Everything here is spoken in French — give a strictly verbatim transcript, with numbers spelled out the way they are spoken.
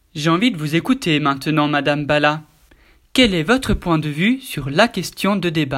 J'ai envie de vous écouter maintenant, Madame Bala. Quel est votre point de vue sur la question de débat ?